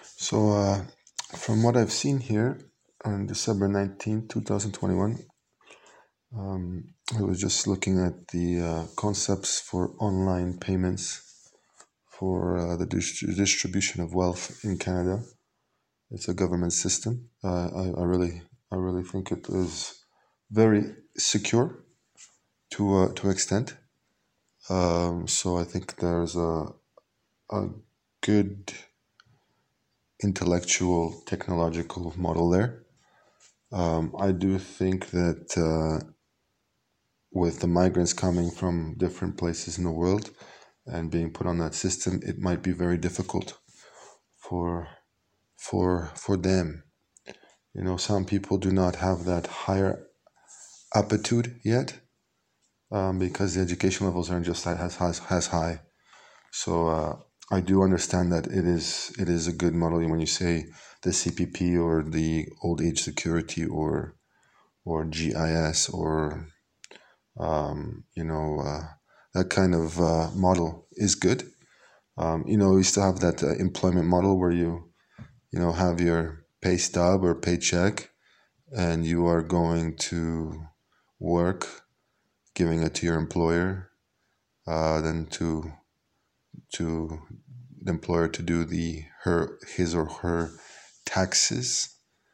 From what I've seen here on December 19th, 2021, I was just looking at the concepts for online payments for the distribution of wealth in Canada. It's a government system. I really think it is very secure to extent. So I think there's a good intellectual technological model there. I do think that with the migrants coming from different places in the world and being put on that system, it might be very difficult for for them. Some people do not have that higher aptitude yet because the education levels aren't just as high. So I do understand that it is a good model when you say the CPP or the old age security or GIS or that kind of model is good. We still have that employment model where you have your pay stub or paycheck and you are going to work, giving it to your employer, then to the employer to do his or her taxes,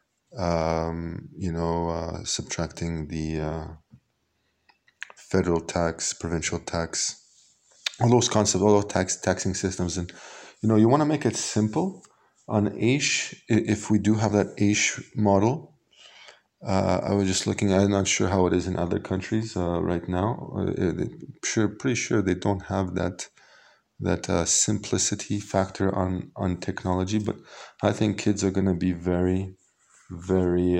subtracting the federal tax, provincial tax, all those concepts, all those taxing systems. And you want to make it simple on AISH. If we do have that AISH model, I was just looking. I'm not sure how it is in other countries right now. Pretty sure they don't have that simplicity factor on technology. But I think kids are going to be very, very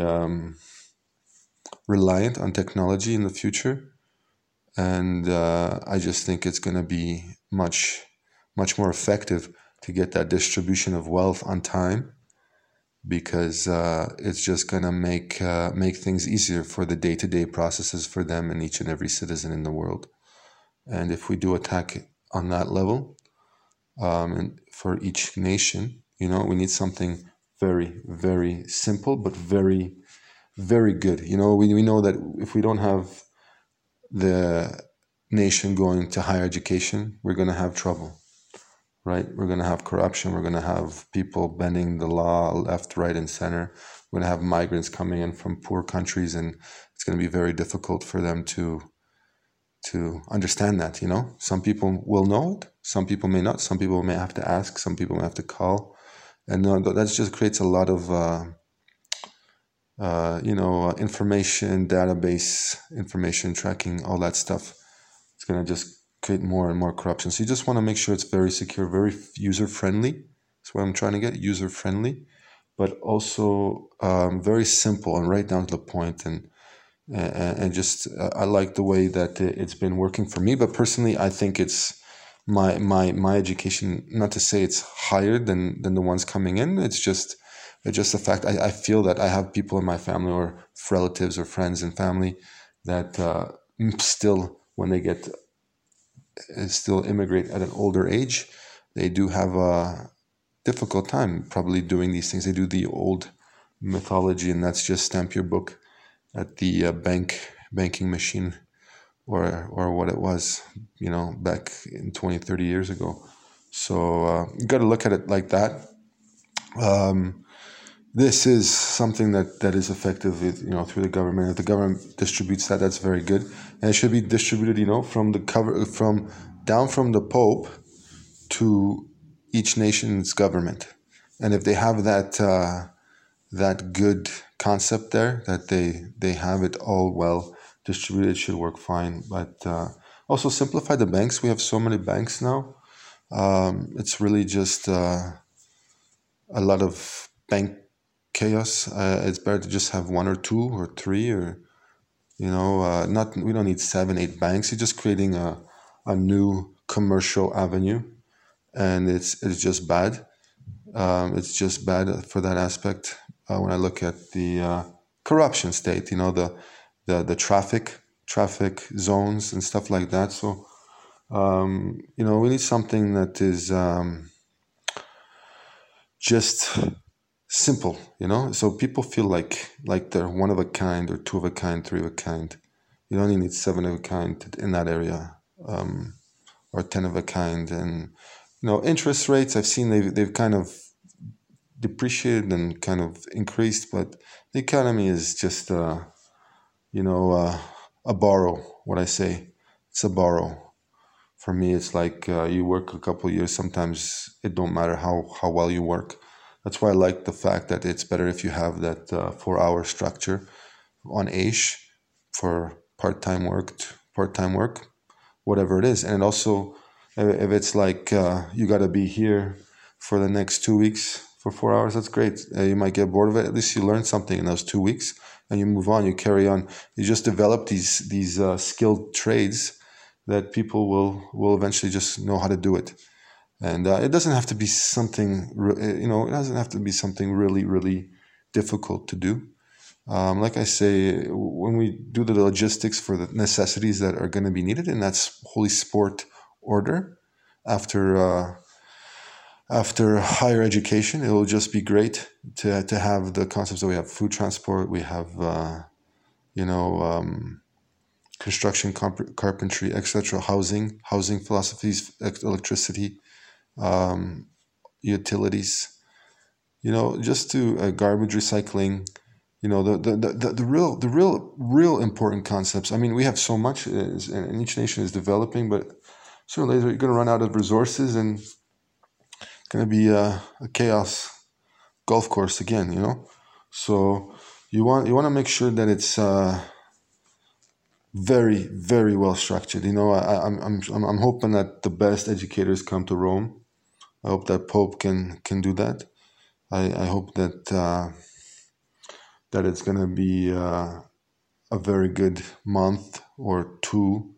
reliant on technology in the future, and I just think it's going to be much more effective to get that distribution of wealth on time, because it's just going to make things easier for the day-to-day processes for them and each and every citizen in the world. And if we do attack on that level, and for each nation, we need something very, very simple but very, very good. We know that if we don't have the nation going to higher education, we're going to have trouble, right? We're going to have corruption. We're going to have people bending the law left, right, and center. We're going to have migrants coming in from poor countries, and it's going to be very difficult for them to understand that. Some people will know it, some people may not, some people may have to ask, some people may have to call, and that just creates a lot of information database, information tracking, all that stuff. It's going to just create more and more corruption. So you just want to make sure it's very secure, very user friendly. That's what I'm trying to get, user friendly, but also very simple and right down to the point. And just I like the way that it's been working for me. But personally, I think it's my education. Not to say it's higher than the ones coming in. It's just a fact. I feel that I have people in my family or relatives or friends and family that still, when they still immigrate at an older age, they do have a difficult time probably doing these things. They do the old mythology, and that's just stamp your book at the banking machine or what it was, back in 20, 30 years ago. So you got to look at it like that. This is something that is effective, through the government. If the government distributes that, that's very good, and it should be distributed, from down from the Pope to each nation's government. And if they have that good concept there, that they have it all well distributed, it should work fine. But also simplify the banks. We have so many banks now. It's really just a lot of bank chaos. It's better to just have one or two or three, or not. We don't need 7, 8 banks. You're just creating a new commercial avenue, and it's just bad. It's just bad for that aspect. When I look at the corruption state, the traffic zones and stuff like that. So we need something that is just simple, so people feel like they're one of a kind or two of a kind, three of a kind. You only need seven of a kind in that area, or 10 of a kind. And interest rates, I've seen they've kind of depreciated and kind of increased, but the economy is just a borrow. What I say, it's a borrow. For me, it's like you work a couple of years. Sometimes it don't matter how well you work. That's why I like the fact that it's better if you have that 4-hour structure on AISH for part-time work, whatever it is. And also, if it's like you got to be here for the next 2 weeks for 4 hours, that's great. You might get bored of it. At least you learn something in those 2 weeks, and you move on. You carry on. You just develop these skilled trades that people will eventually just know how to do it. And it doesn't have to be something, it doesn't have to be something really, really difficult to do. Like I say, when we do the logistics for the necessities that are going to be needed, and that's holy sport order, after higher education, it will just be great to have the concepts that we have: food transport, we have, construction, carpentry, etc., housing philosophies, electricity, utilities, just to garbage recycling, the real important concepts. I mean, we have so much, and each nation is developing, but sooner or later you're going to run out of resources, and it's going to be a chaos golf course again. So you want to make sure that it's very, very well structured. I'm hoping that the best educators come to Rome. I hope that Pope can do that. I hope that that it's going to be a very good month or two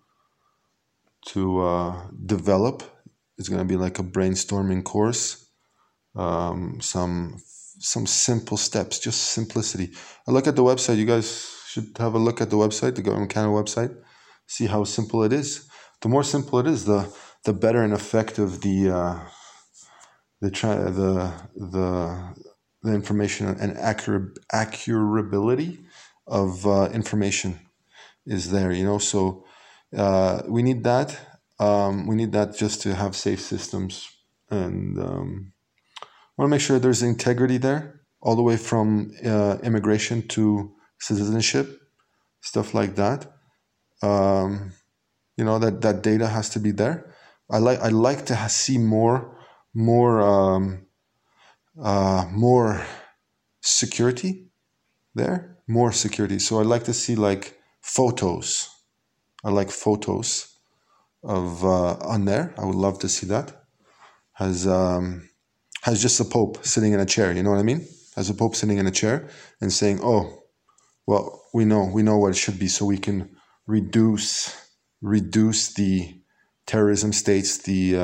to develop. It's going to be like a brainstorming course. Some simple steps, just simplicity. I look at the website. You guys should have a look at the website, the Government Canada website. See how simple it is. The more simple it is, the better and effective the information and accurability of information is there. So we need that. We need that just to have safe systems, and want to make sure there's integrity there, all the way from immigration to citizenship, stuff like that. That data has to be there. I like to see more security there, more security. So I like to see like photos. I like photos of on there. I would love to see that. Has just a pope sitting in a chair. You know what I mean? Has a pope sitting in a chair and saying, "Oh, well, we know what it should be, so we can reduce the terrorism states, the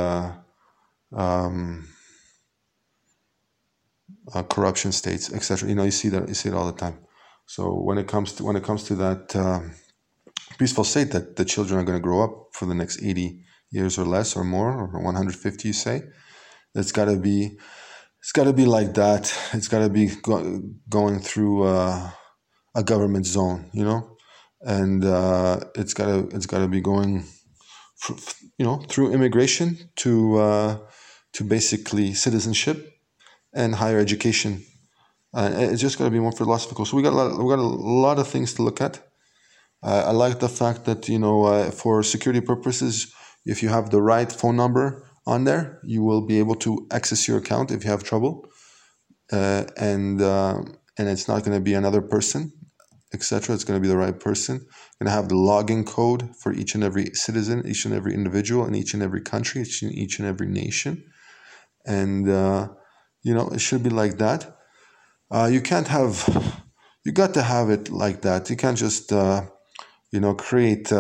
corruption states, etc." You see it all the time. So when it comes to that peaceful state that the children are going to grow up for the next 80 years or less or more, or 150, you say, it's got to be like that. It's got to be going through a government zone, and it's got to be going through immigration to basically citizenship and higher education. It's just got to be more philosophical. So we got a lot of things to look at. I like the fact that for security purposes, if you have the right phone number on there, you will be able to access your account if you have trouble, and it's not going to be another person, etc. It's going to be the right person. Going to have the login code for each and every citizen, each and every individual, in each and every country, each and every nation, and it should be like that. You got to have it like that. You can't just create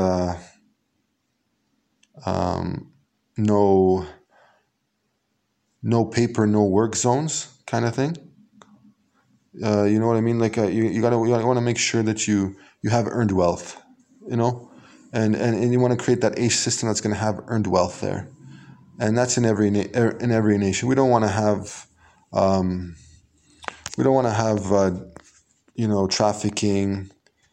no paper, no work zones kind of thing. You know what I mean? Like you want to make sure that you have earned wealth, and you want to create that AISH system that's going to have earned wealth there, and that's in every nation. We don't want to have We don't want to have trafficking,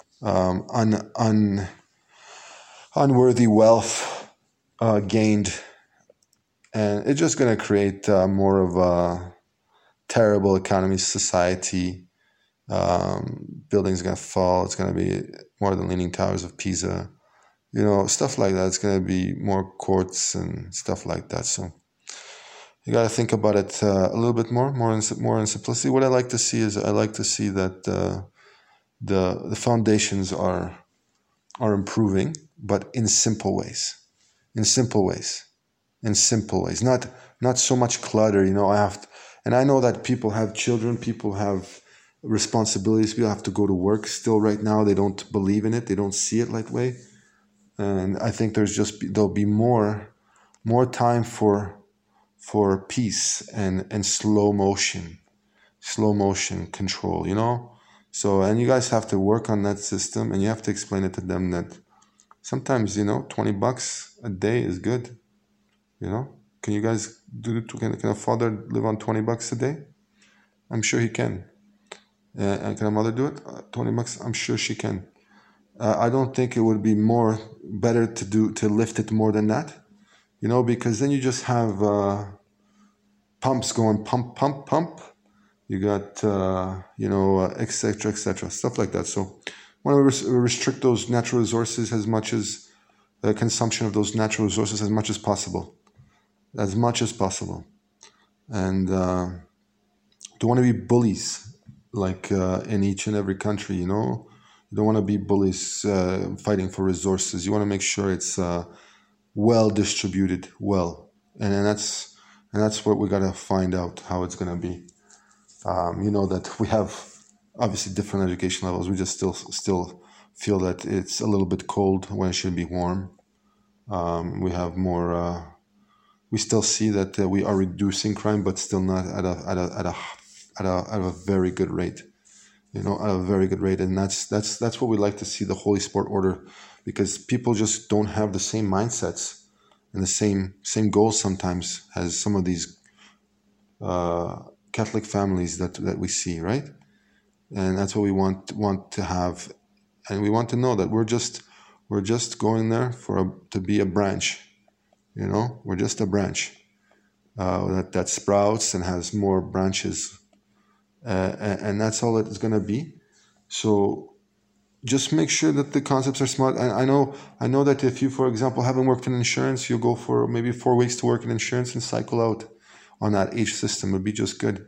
unworthy wealth gained, and it's just going to create more of a terrible economy, society. Buildings going to fall. It's going to be more than Leaning Towers of Pisa. Stuff like that. It's going to be more courts and stuff like that. So you got to think about it a little bit more in simplicity. What I like to see is that the foundations are improving, but in simple ways. Not so much clutter. And I know that people have children, people have responsibilities, people have to go to work still right now. They don't believe in it. They don't see it that way. And I think there'll be more time for peace and slow motion control, So, and you guys have to work on that system, and you have to explain it to them that sometimes, $20 a day is good. Can you guys can a father live on $20 a day? I'm sure he can. And can a mother do it? $20? I'm sure she can. I don't think it would be better to lift it more than that, because then you just have pumps going pump. You got et cetera, stuff like that. So, want to restrict those natural resources as much as consumption of those natural resources as much as possible, and don't want to be bullies like in each and every country. You don't want to be bullies fighting for resources. You want to make sure it's well distributed, and that's what we got to find out how it's going to be. That we have obviously different education levels. We just still feel that it's a little bit cold when it should be warm. We have more. We still see that we are reducing crime, but still not at a very good rate. At a very good rate, and that's what we like to see, the Holy Sport Order, because people just don't have the same mindsets and the same goals sometimes as some of these Catholic families that we see, right? And that's what we want to have, and we want to know that we're just going there to be a branch. We're just a branch that sprouts and has more branches. And that's all it's going to be. So just make sure that the concepts are smart. And I know that if you, for example, haven't worked in insurance, you'll go for maybe 4 weeks to work in insurance and cycle out on that age system. Would be just good.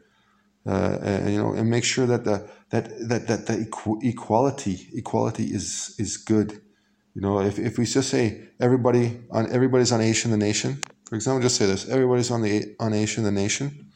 And make sure that the equality is good. If we just say everybody's on Aish in the nation, for example, just say this: everybody's on Aish in the nation.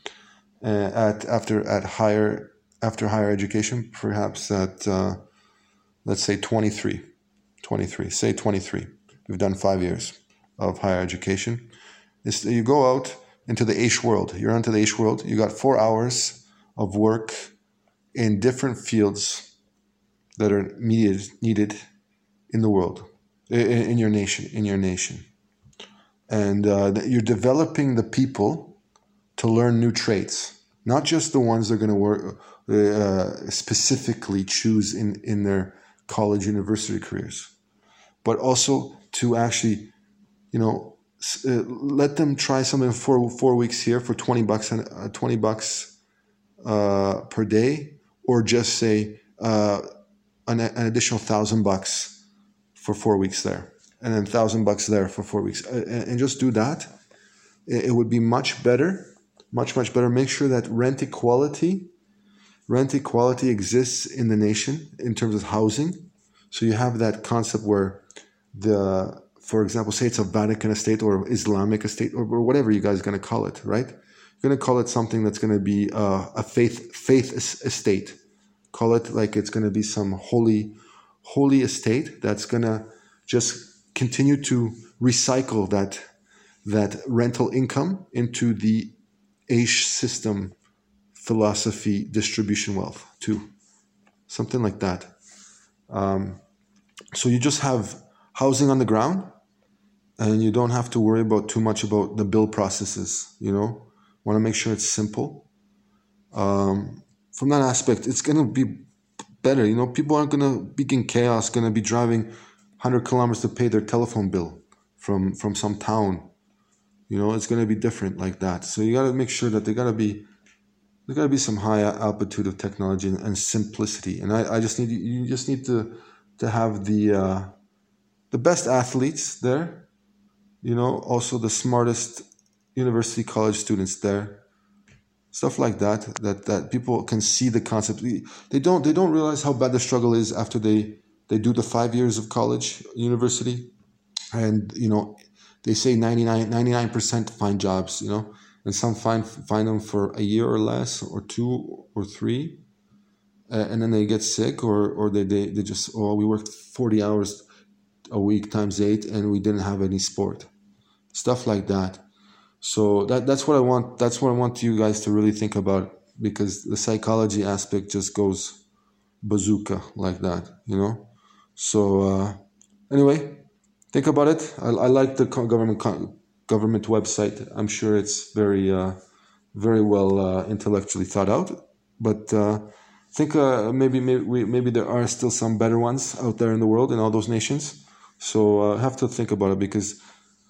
After higher education, perhaps at let's say 23. Say 23. You've done 5 years of higher education. You go out into the Aish world. You're into the Aish world. You got 4 hours of work in different fields that are needed in the world, in your nation, and you're developing the people to learn new traits, not just the ones they're going to work specifically choose in their college, university careers, but also to actually, let them try something for 4 weeks here for $20 and $20 per day, or just say an additional $1,000 for 4 weeks there, and then $1,000 there for 4 weeks, and just do that. It would be much better. Much better. Make sure that rent equality exists in the nation in terms of housing. So you have that concept where for example, say it's a Vatican estate or Islamic estate or whatever you guys are going to call it, right? You're going to call it something that's going to be a faith estate. Call it like it's going to be some holy estate that's going to just continue to recycle that rental income into the Aish system philosophy, distribution wealth too, something like that. So you just have housing on the ground, and you don't have to worry about too much about the bill processes. Want to make sure it's simple. From that aspect, it's gonna be better. People aren't gonna be in chaos, gonna be driving 100 kilometers to pay their telephone bill from some town. It's gonna be different like that. So you gotta make sure that there gotta be some high altitude of technology and simplicity. And I just need you just need to have the best athletes there. Also the smartest university college students there, stuff like that people can see the concept. They don't realize how bad the struggle is after they do the 5 years of college university. And they say 99% find jobs, and some find them for a year or less, or 2 or 3, and then they get sick, or they just, oh, we worked 40 hours a week times 8 and we didn't have any sport, stuff like that. So that's what I want. That's what I want you guys to really think about, because the psychology aspect just goes bazooka like that, So anyway, think about it. I like the government website. I'm sure it's very well intellectually thought out. But think maybe there are still some better ones out there in the world, in all those nations. So have to think about it, because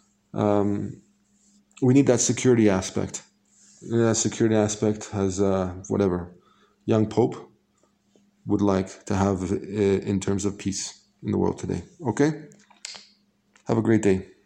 we need that security aspect. That security aspect has whatever young Pope would like to have in terms of peace in the world today. Okay? Have a great day.